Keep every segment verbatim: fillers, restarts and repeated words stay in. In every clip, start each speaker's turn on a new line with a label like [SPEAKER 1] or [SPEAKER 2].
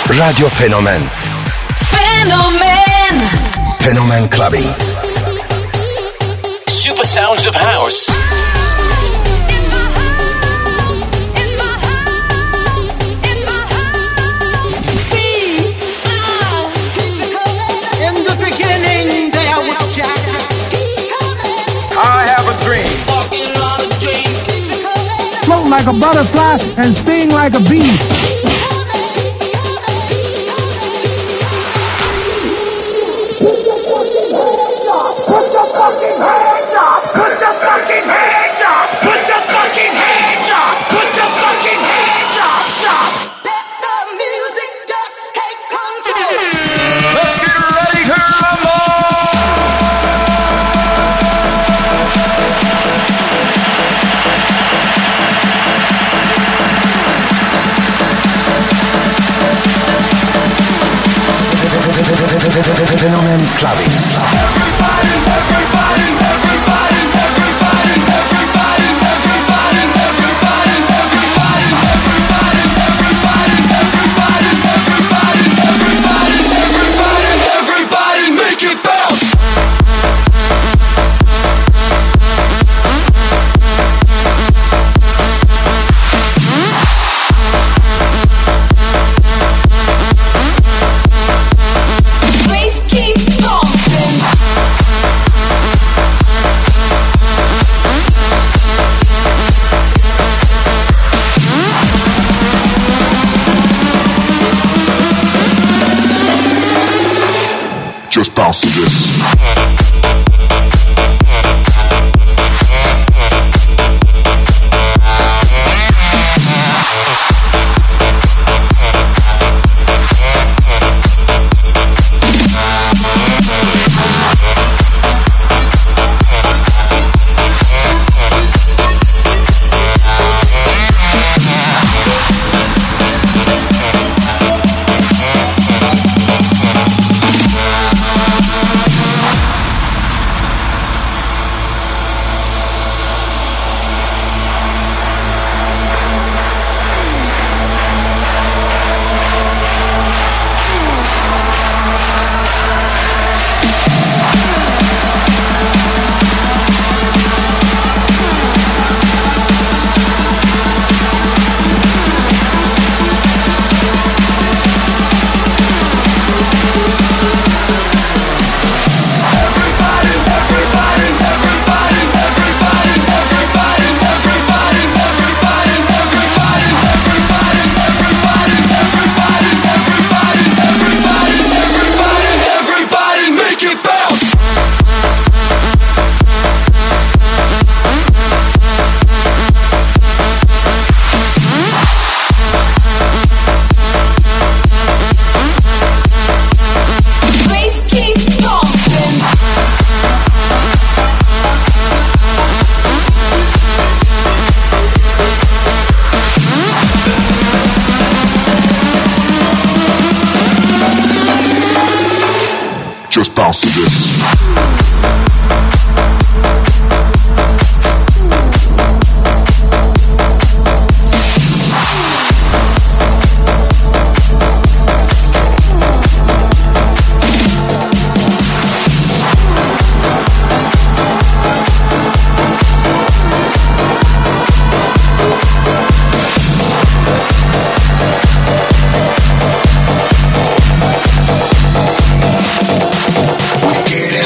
[SPEAKER 1] Radyo Fenomen.
[SPEAKER 2] Fenomen.
[SPEAKER 1] Fenomen Clubbing.
[SPEAKER 3] Super sounds of house.
[SPEAKER 4] Float like a butterfly and sting like a bee.
[SPEAKER 5] Put your fucking hands up! Put your fucking hands up! Put your fucking hands up! Put your fucking hands up! Stop! Let the music just take control. Let's get ready to rumble!
[SPEAKER 1] Fenomen Clubbing.
[SPEAKER 5] Everybody, everybody, everybody, everybody, everybody, everybody, everybody, everybody, everybody, everybody, everybody, everybody, everybody, everybody, everybody, make it bounce.
[SPEAKER 6] Just bounce to this. Just bounce to this.
[SPEAKER 1] We get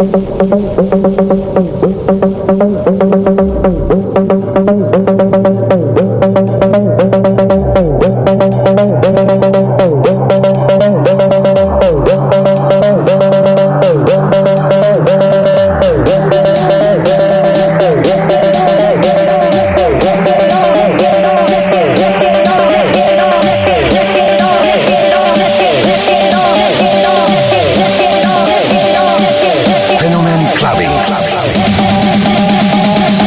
[SPEAKER 1] Fenomen Clubbing. Clubbing.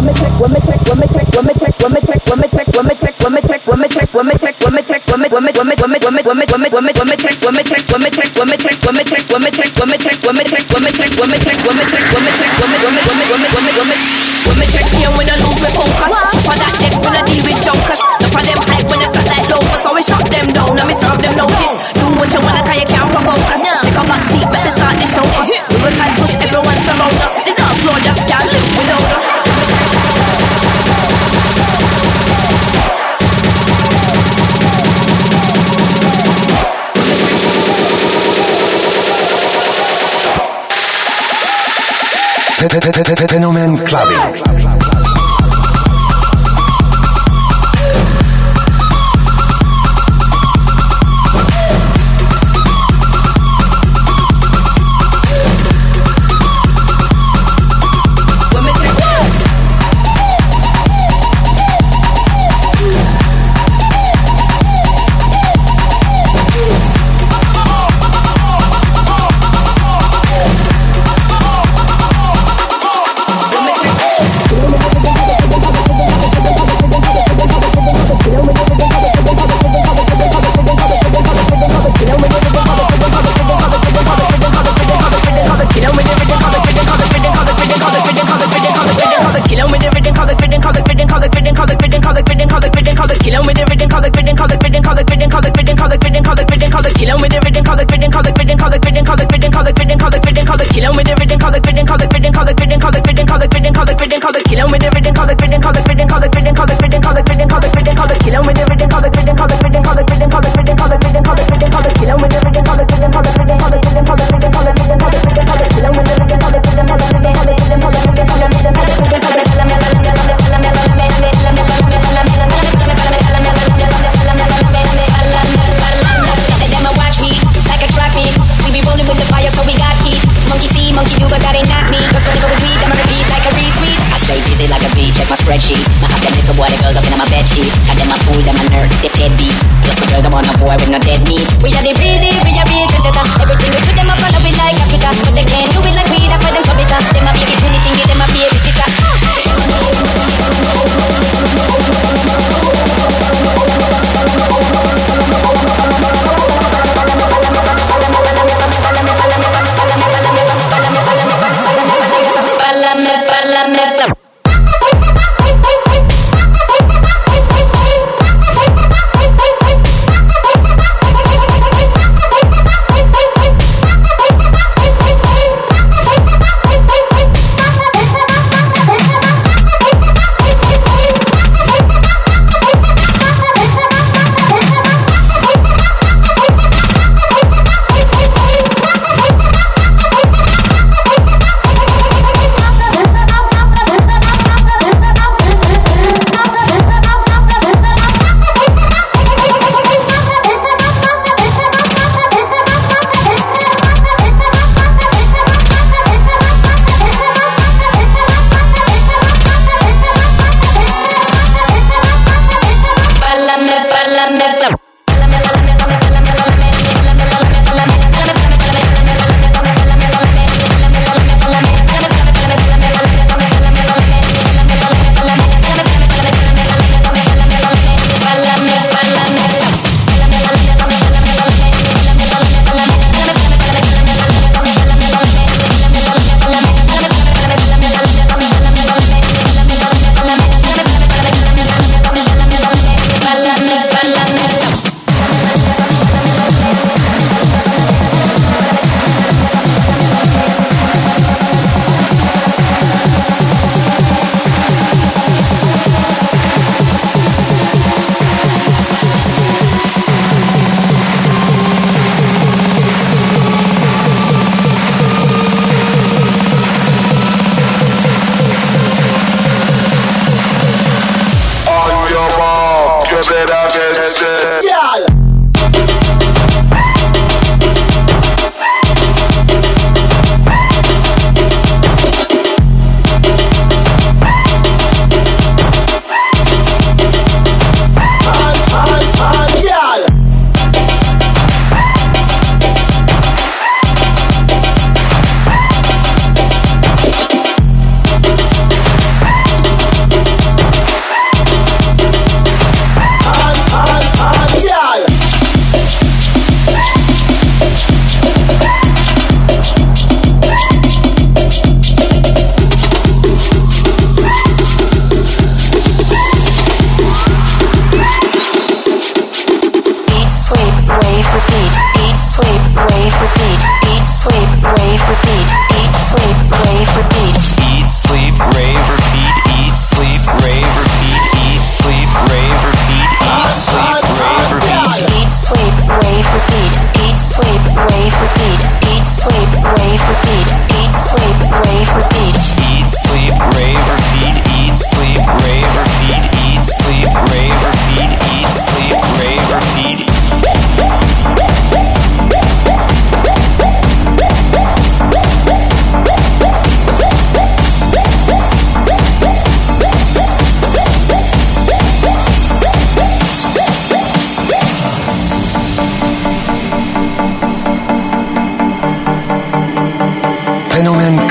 [SPEAKER 1] Fenomen Clubbing.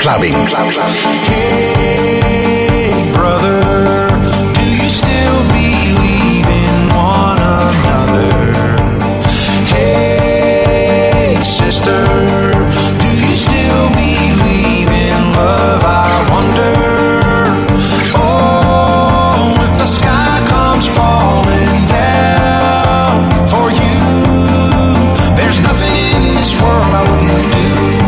[SPEAKER 1] Clubbing.
[SPEAKER 2] Hey, brother, do you still believe in one another? Hey, sister, do you still believe in love? I wonder. Oh, if the sky comes falling down for you, there's nothing in this world I wouldn't do.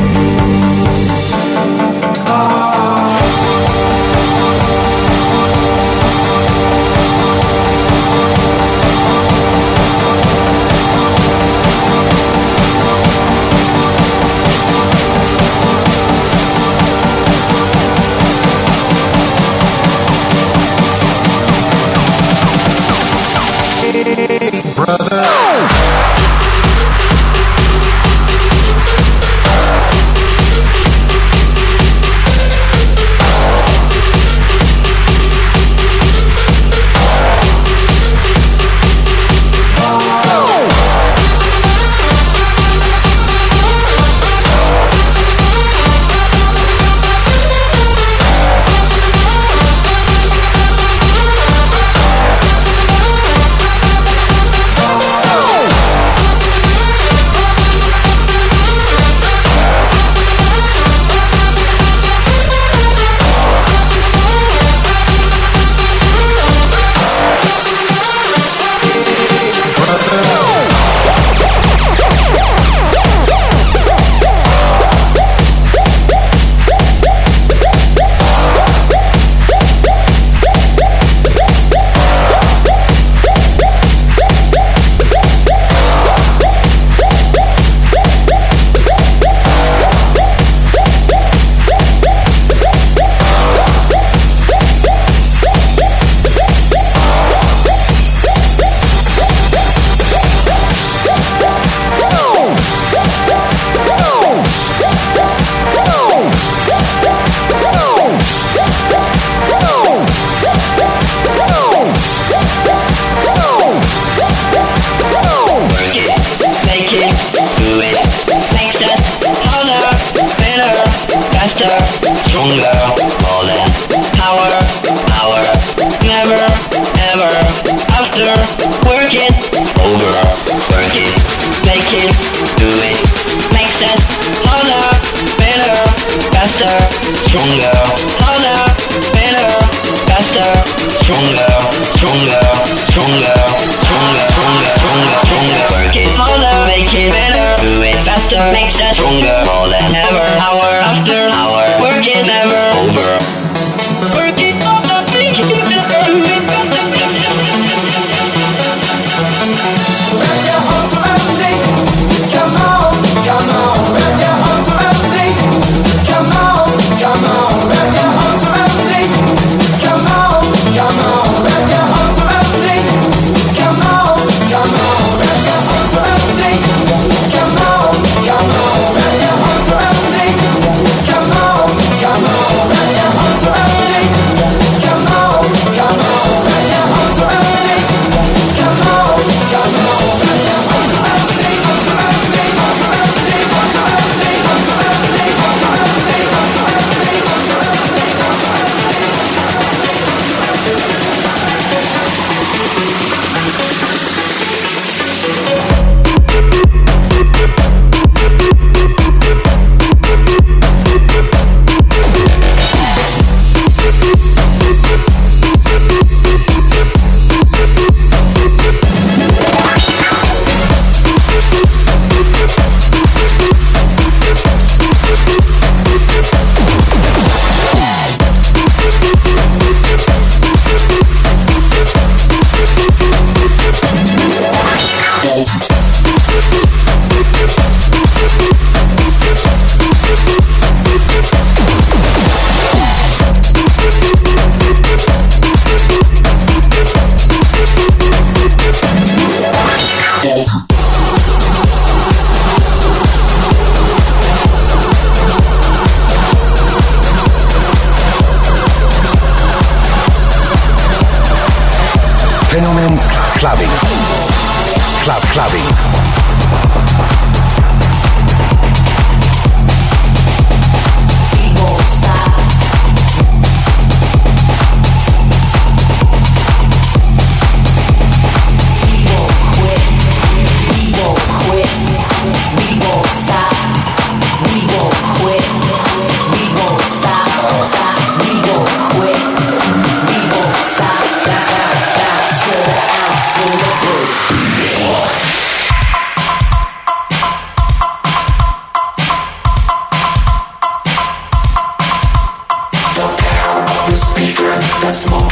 [SPEAKER 2] Brother.
[SPEAKER 1] Fenomen Clubbing. Club Clubbing.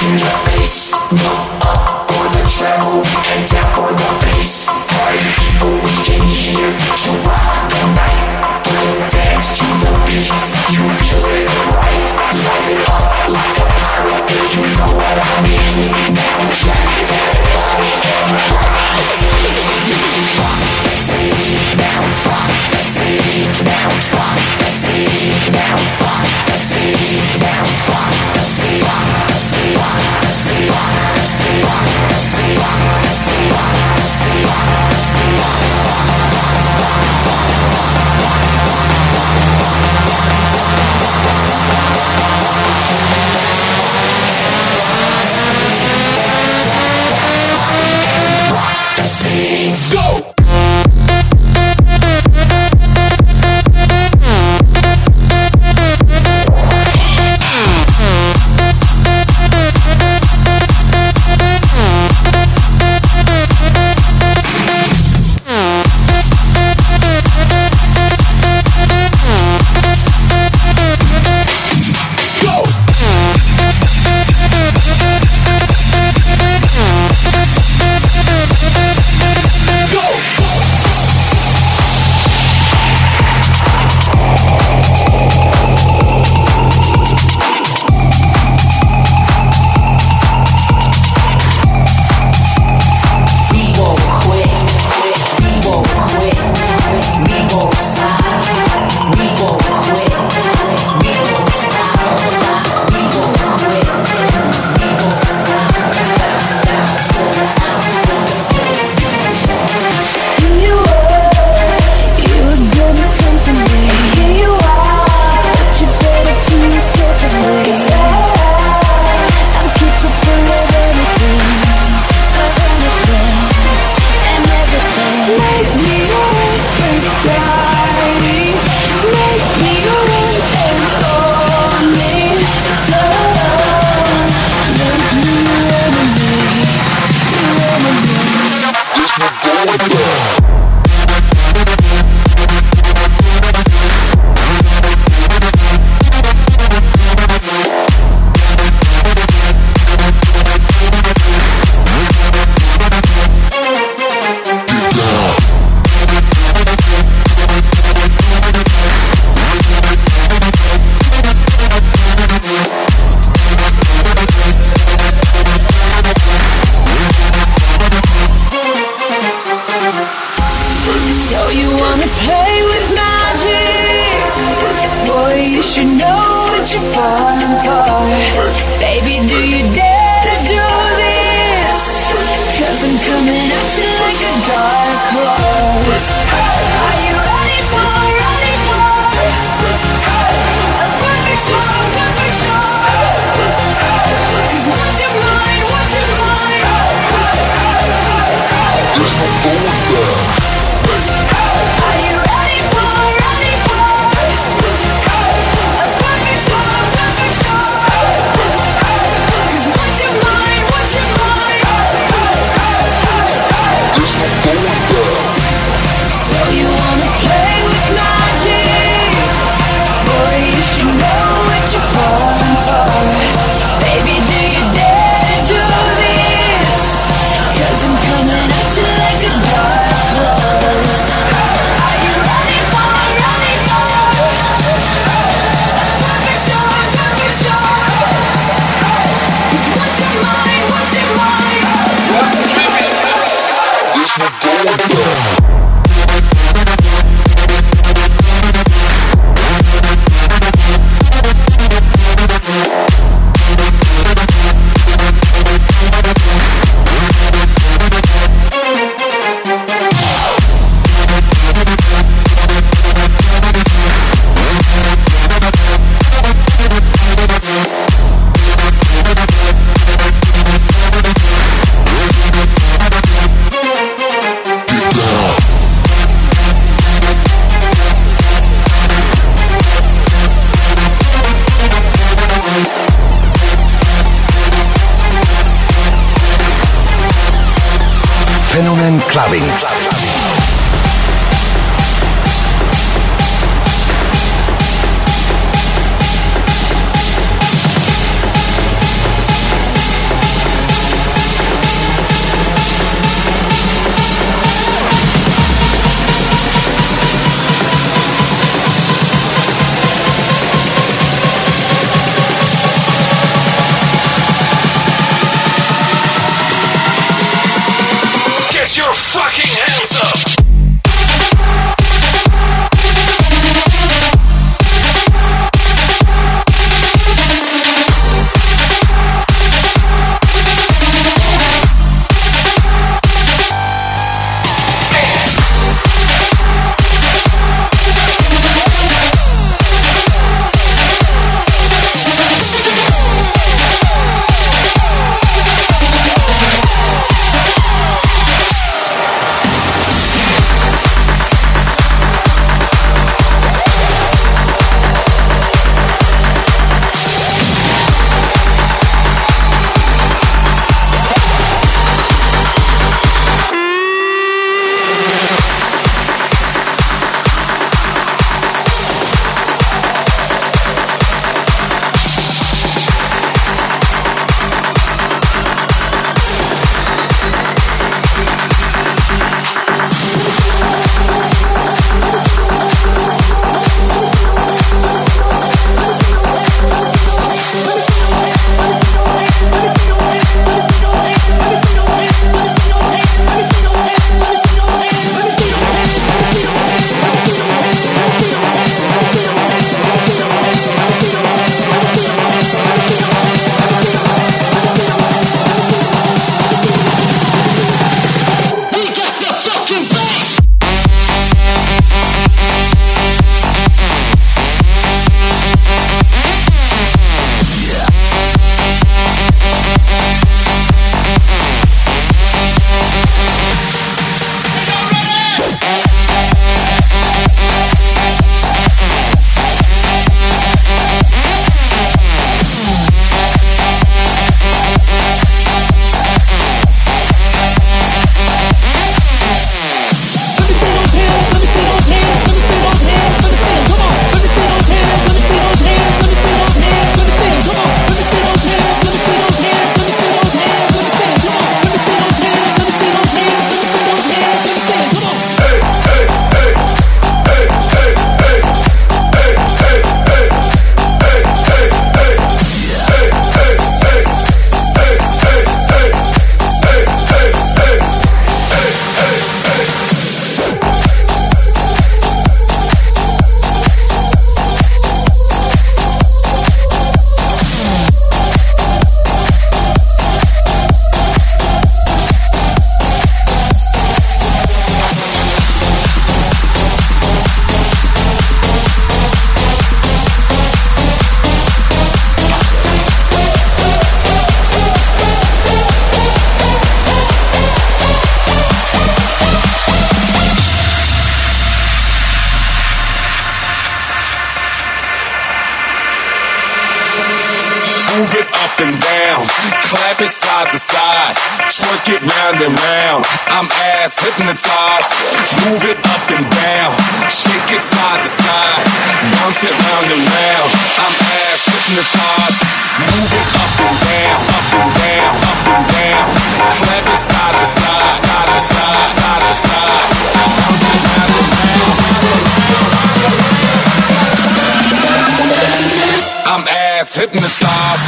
[SPEAKER 1] Fenomen Clubbing.
[SPEAKER 3] fucking hands up.
[SPEAKER 7] Move it up and down, clap it side to side, twerk it round and round. I'm ass hypnotized. Move it up and down, shake it side to side, bounce it round and round. I'm ass hypnotized. Move it up and down, up and down, up and down, clap it side to side, side to side, side to side, bounce it round and round. I'm ass hypnotized.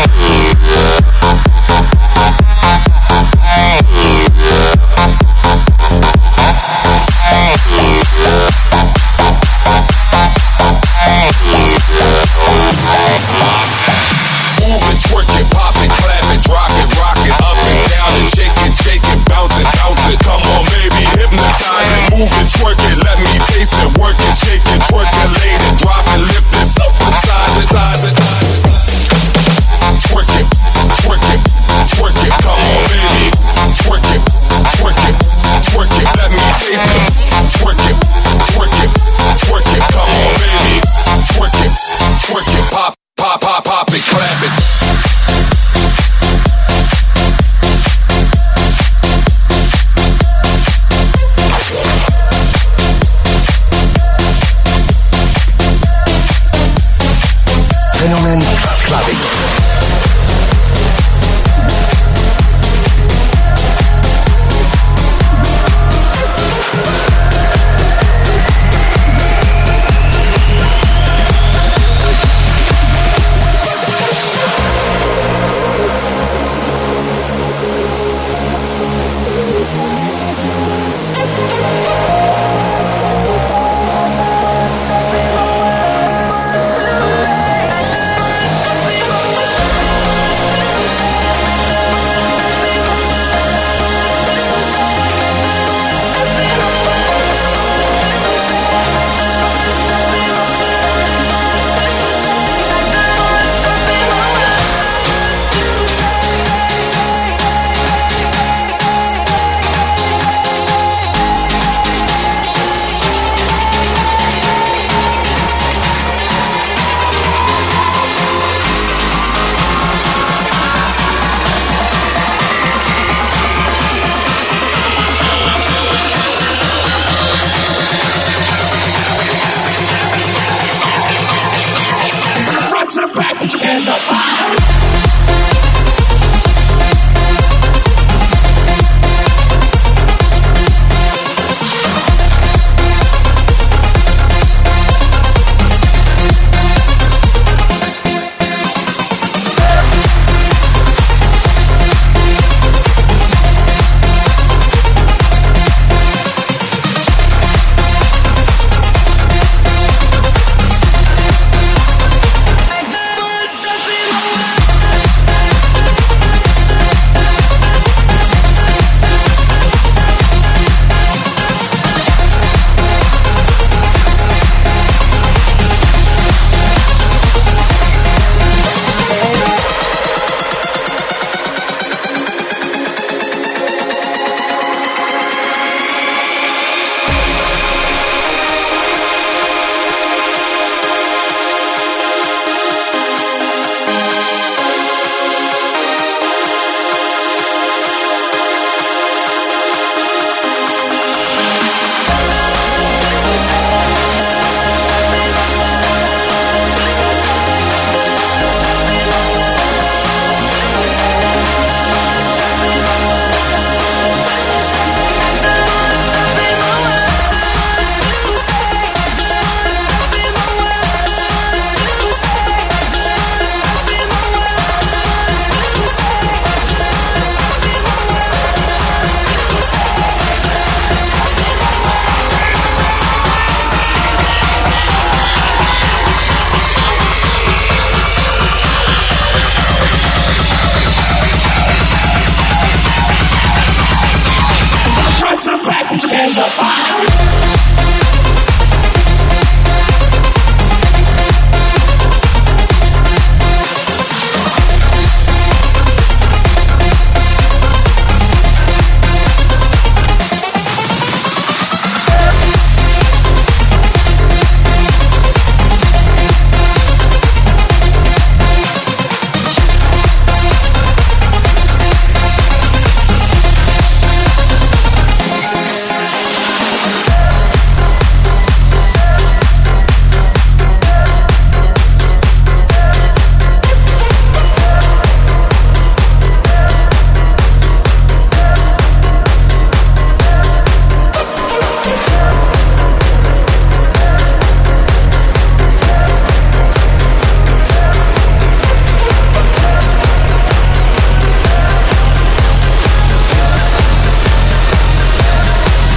[SPEAKER 7] Move it, twerk it, pop it, clap it, drop it, rock it, up and down and shake it, shake it, bounce it, bounce it. Come on, baby, hypnotize it. Move it, twerk it, let me taste it, work it, shake it, twerk it, lay it, drop it, lift it, supersize it, size it, size it.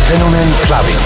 [SPEAKER 1] Fenomen Clubbing.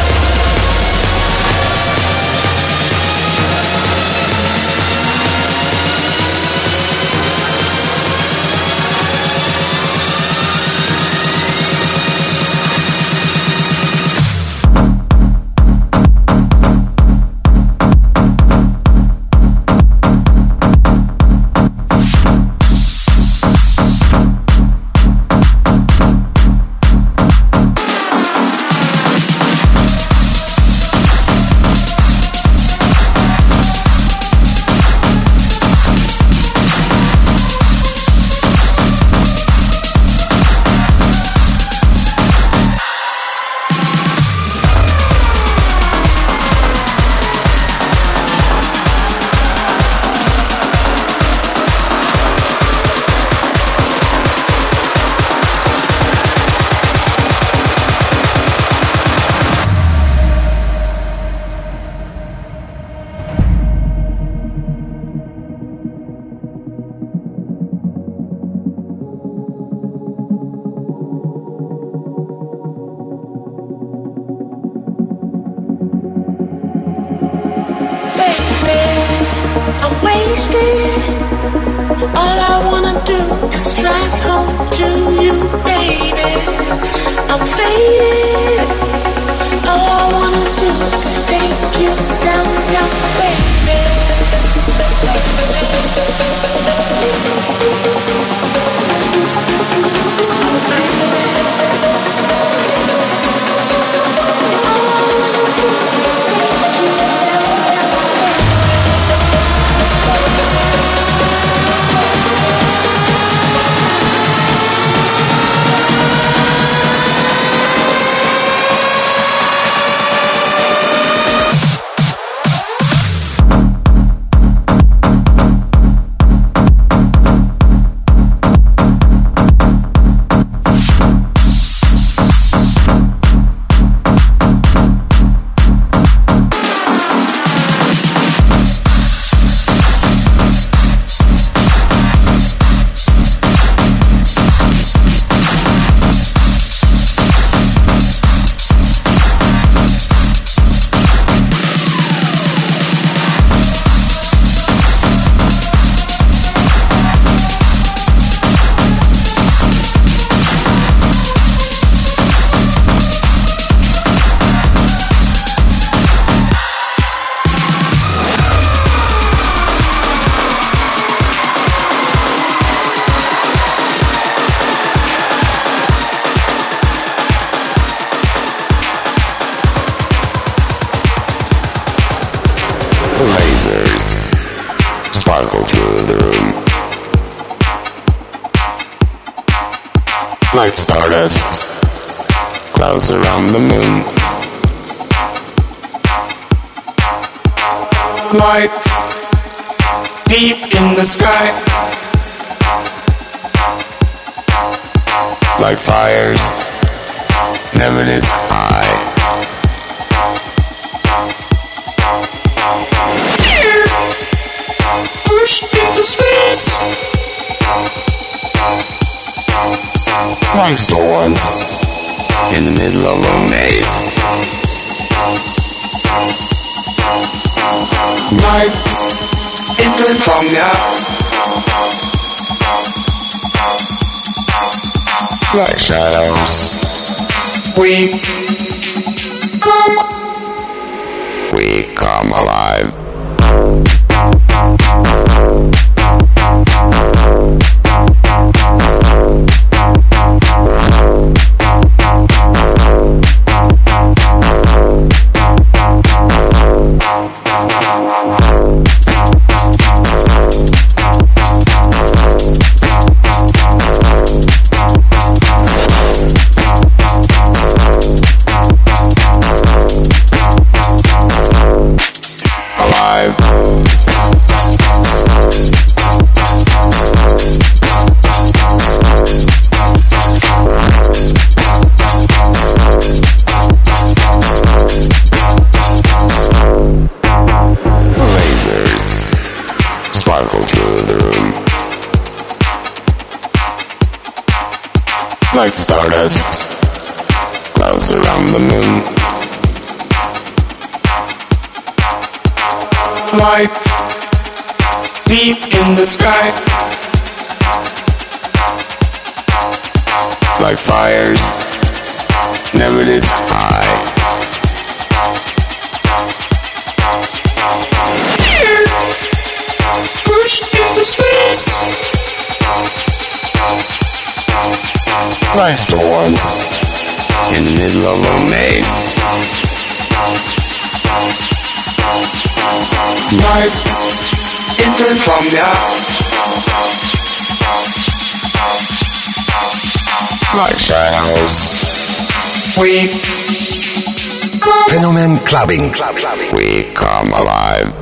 [SPEAKER 8] Sparkle through the room like stardust, clouds around the moon. Light deep in the sky, like fires never this high. Pushed into space like storms in the middle of a maze. Night insomnia like shadows. We come, we come alive. Like stardust, clouds clouds around the moon.
[SPEAKER 7] Light deep in the sky,
[SPEAKER 8] like fires never this high.
[SPEAKER 7] Here, pushed into space,
[SPEAKER 8] Like storms in the middle of a maze.
[SPEAKER 7] light entered from the
[SPEAKER 8] Like shadows,
[SPEAKER 7] we
[SPEAKER 1] Fenomen Clubbing. Club, clubbing.
[SPEAKER 8] we come alive.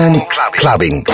[SPEAKER 1] German clubbing.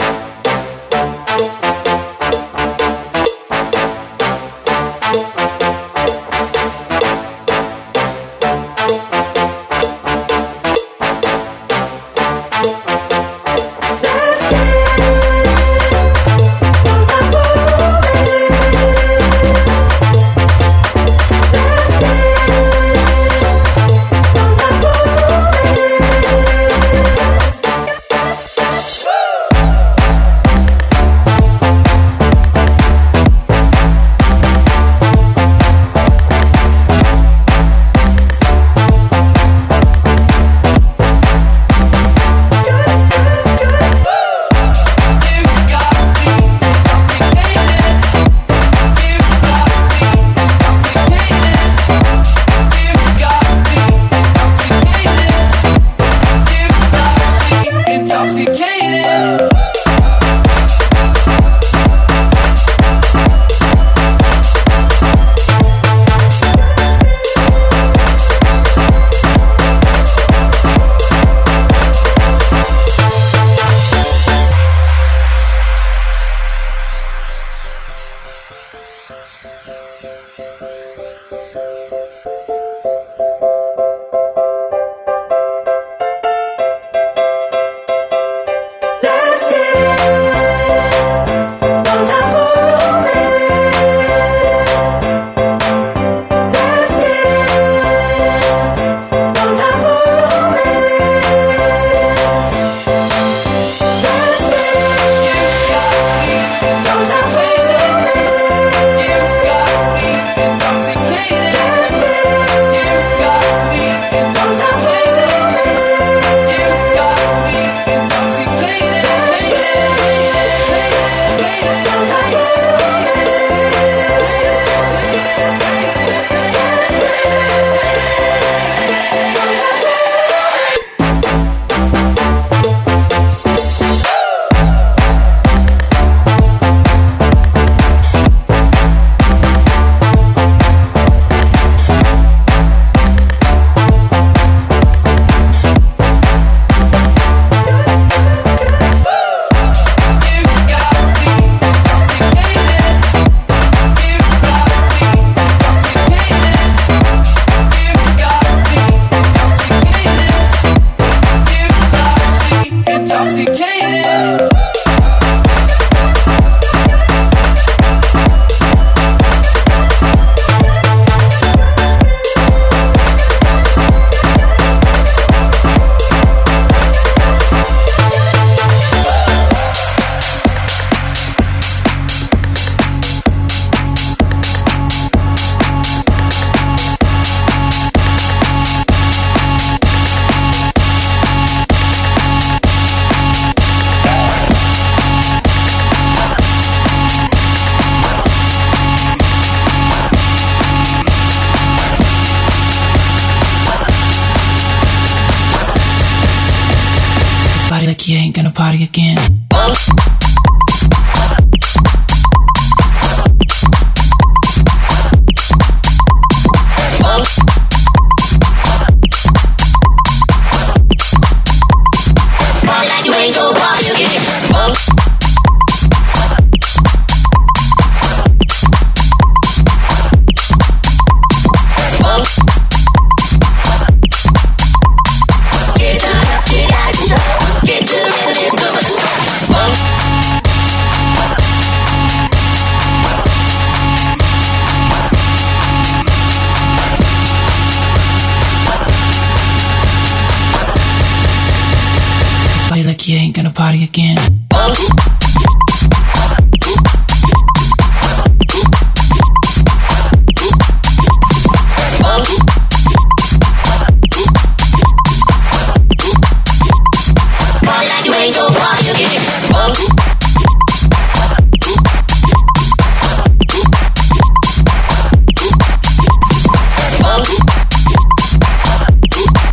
[SPEAKER 9] Like you ain't gonna party again. Like you ain't gonna party again.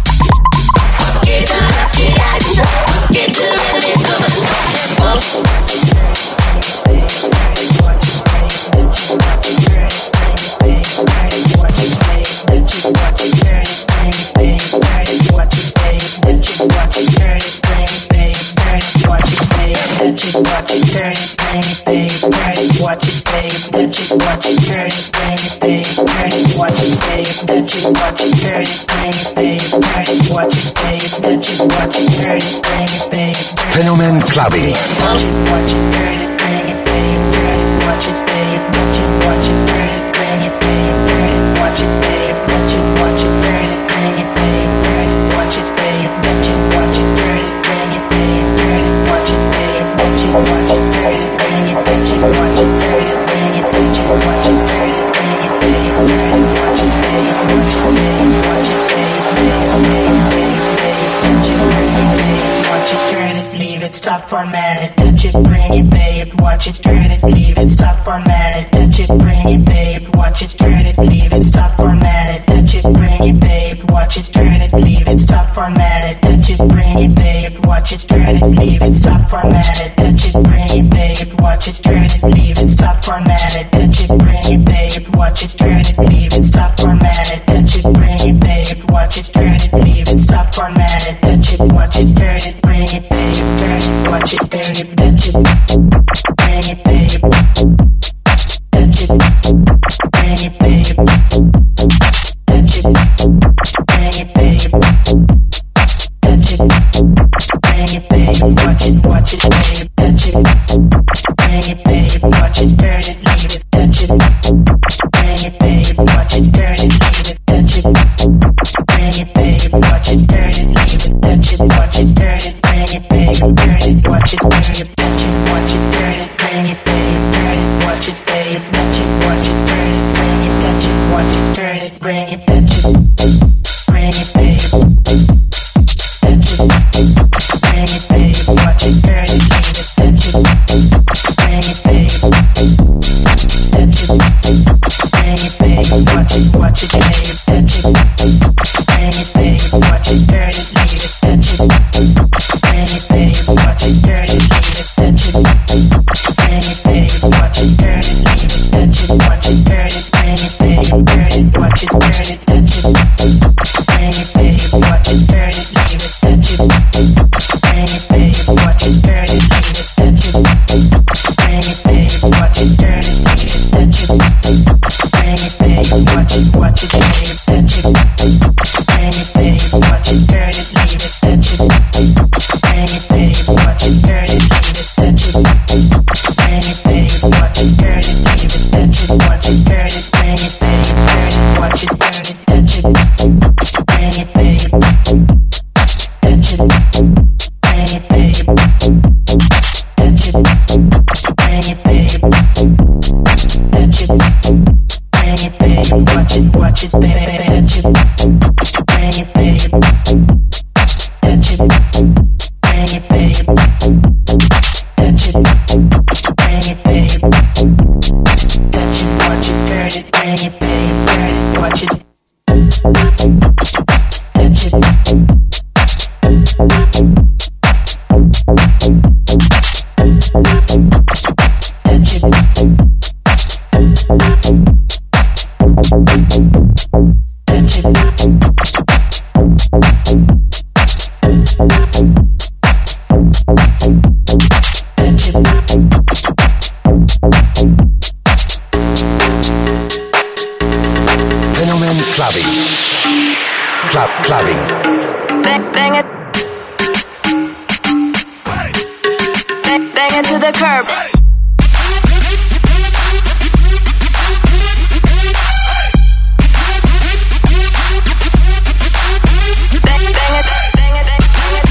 [SPEAKER 5] Get
[SPEAKER 9] turn it, bring it, babe, turn it, watch it, babe, touch it, watch it, turn it, bring it, babe.
[SPEAKER 1] Fenomen Clubbing.
[SPEAKER 9] Watch it, watch it, turn it, bring it, babe, turn it, watch it, babe, touch it, watch it, turn it, bring it, babe, turn it, watch it, babe, touch it, watch it, turn it, bring it, babe, turn it, watch it, babe, touch it, watch it, turn it, bring it, babe, turn it, watch it, babe, touch it, watch it, turn it, bring it, touch it, watch it, turn it, bring it, touch it, watch it, turn it, bring it, babe, turn it, watch it, babe, watch it, babe, watch it, babe, babe, babe, babe, babe, touch it, bring it, babe, watch it, turn it, leave it, stop, format it, touch it, bring it, babe, watch it, turn it, leave it, stop, format it, touch it, bring it, babe, watch it, turn it, leave it, stop, format it, touch it, bring it, babe, watch it, turn it, leave it, stop, format it, touch it, bring it, babe, watch it, turn it, leave it, stop, format it, touch it, bring it, babe, watch it, turn it, leave it, stop, format it, touch it, bring it, babe, watch it, turn it, leave it, stop, format it, touch it, bring it, babe, watch it, turn it, leave it, stop, format it, touch it, watch it, turn it, bring it, babe, turn it, watch it, turn it, touch it, bring it, babe, touch it, bring it, babe, touch it, bring it, babe, touch it, bring it, babe, watch it, watch it, babe, touch it, bring it, babe, watch it, turn it, leave it, touch it, bring it, babe, watch it, turn it, leave it, touch it, bring it, babe, watch it, turn it, leave it, touch it, watch it, turn it, bring it, babe, turn it, watch it, turn it, touch it, watch it, turn it, bring it, babe, turn it, watch it, babe, touch it, watch it, turn it, bring it, touch it, watch it, turn it, bring it, touch it, bring it, babe, touch it, bring it, babe, watch it, turn it, leave it, touch it, bring it, babe, touch it, bring it, babe, watch it, watch it, babe, touch it, bring it, babe, watch it, turn it, leave it, touch it, bring it, babe, watch it, turn it, leave it, touch it, bring it, babe, watch it, turn it, leave it, touch it, watch it, turn it, bring it, babe, turn it, watch it, turn it, touch it, bring it, babe, watch it, turn it, leave it, touch it, bring it, babe, watch it, turn it, leave it, touch it, bring it, babe, watch it, turn it, leave it, touch it, bring it, babe, watch it, watch it, babe, touch it, bring it, babe, watch it, turn it, leave it, touch it, bring it, babe, watch it, turn it, leave it, touch it, bring it, babe, watch it, turn it, leave it, touch it, watch it, turn it, bring it, babe, turn it, watch it, turn it, touch it, bring it, babe, touch it, bring it, babe, touch it, bring it, babe, touch it, bring it, babe, watch it, watch it, babe, touch it, bring it, babe, touch it, bring it, babe, touch it, bring it, babe, touch it, watch it, turn it, bring it, babe, turn it, watch it, touch it, touch it, touch it, touch it.
[SPEAKER 1] Fenomen Clubbing. Club Clubbing.
[SPEAKER 10] Bang, bang it. Bang, bang it to the curb. Bang, bang it, bang it, bang it.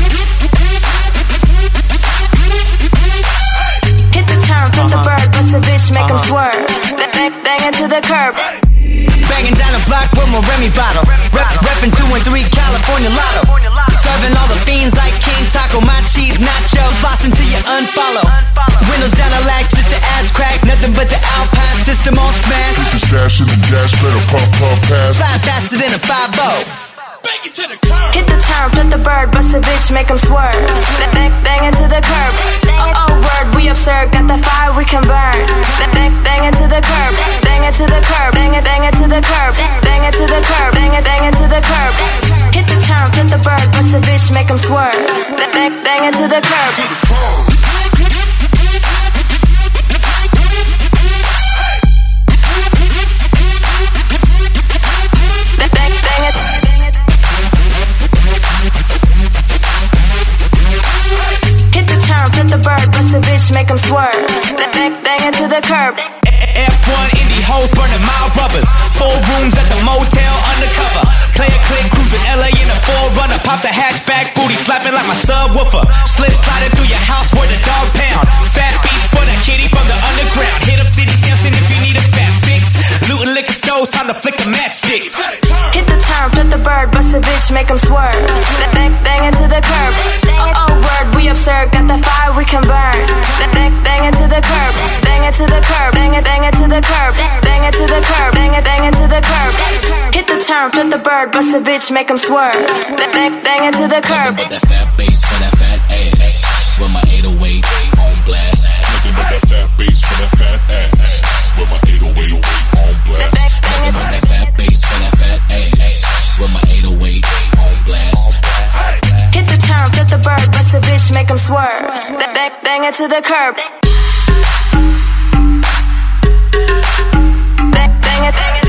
[SPEAKER 10] Hit the turn, flip the bird, bust a bitch, make him swerve. Bang, bang, bang it to the curb.
[SPEAKER 11] Banging down the block with my Remy bottle. Rep, reppin' two and three California Lotto. Serving all the fiends like King Taco. My cheese nachos, floss until you unfollow. Windows down the lack, just the ass crack. Nothing but the Alpine system on smash.
[SPEAKER 6] Put the stash in the dash, better pump, pump, pass.
[SPEAKER 11] Fly faster than a five oh.
[SPEAKER 10] Hit the turn, flip the bird, bust a bitch, make him swerve. Bang, bang, bang it to the curb. Oh, oh, word, we absurd, got the fire we can burn. Bang, bang, bang it to the curb. Bang it to the curb, bang it, bang it to the curb. Bang it to the curb, bang it, bang it to the curb. Hit the turn, flip the bird, bust a bitch, make him swerve. Bang, bang, bang it to the curb. Bang, bang, bang it. swerve. Bang, bang it to the curb.
[SPEAKER 11] F one indie hoes burning my rubbers. Four rooms at the motel undercover. Play a click, cruising L A in a four runner. Pop the hatchback, booty slapping like my subwoofer. Slip sliding through your house where the dog pound. Fat beats for the kitty from the underground. Hit up City Sampson if you need a fat fix. Looting liquor stores, time to flick the matchsticks.
[SPEAKER 10] Hit the turn, flip the bird, bust a bitch, make 'em swerve. Bang, bang it to the curb. Oh, oh word, we absurd, got the fire we can burn. Bang, bang it to the curb. Bang it to the curb. Bang it, bang it to the curb. Bang it to the curb. Bang it, bang it to the curb. Hit the turn, flip the bird, bust a bitch, make 'em swerve. Bang, bang it to the curb.
[SPEAKER 12] Nothing but that fat bass for that fat ass. With my eight oh eight on blast.
[SPEAKER 6] Nothing but that fat bass for that fat ass. With my eight oh eight on blast.
[SPEAKER 12] Nothing but that fat bass for that fat ass. With my eight oh eight on blast.
[SPEAKER 10] Hit the turn, flip the bird, bust a bitch, make 'em swerve. Bang, bang it to the curb. Bang, bang it, bang it.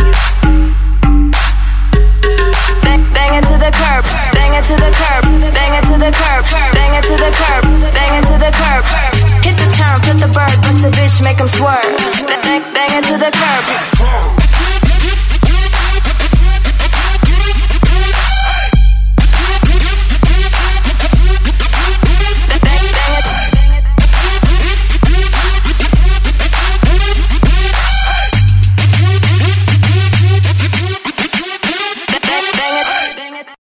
[SPEAKER 10] Bang, bang it to the curb. Bang it to the curb. Bang it to the curb. Bang it to the curb. Bang it to the curb. Hit the turn, flip the bird, bust a bitch, make 'em swerve. Bang, bang it to the curb.